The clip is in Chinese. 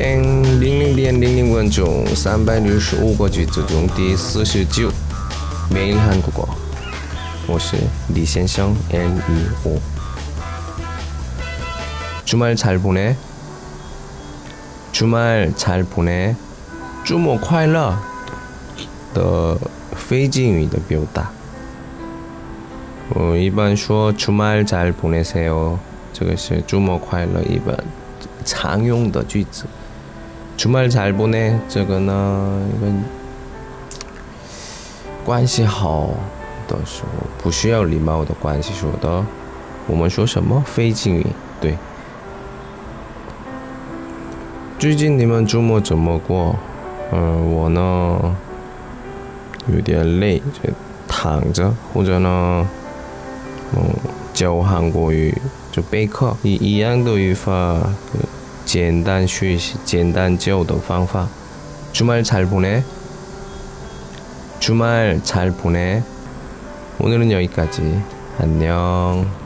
땡 링링디엔 링링원 중 365个句子中第49 매일 한국어 我是李先生 N25 주말 잘 보내 주말 잘 보내 周末快乐的非敬语的表达我一般说 주말 잘 보내세요 这个是周末快乐一般常用的句子 주말 잘 보내 这个呢一个关系好的时候不需要礼貌的关系说的我们说什么非敬语对最近你们周末怎么过我呢有点累就躺着或者呢教韩国语就备课一样的语法简单学习简单教的方法 주말 잘 보내 주말 잘 보내 오늘은 여기까지 안녕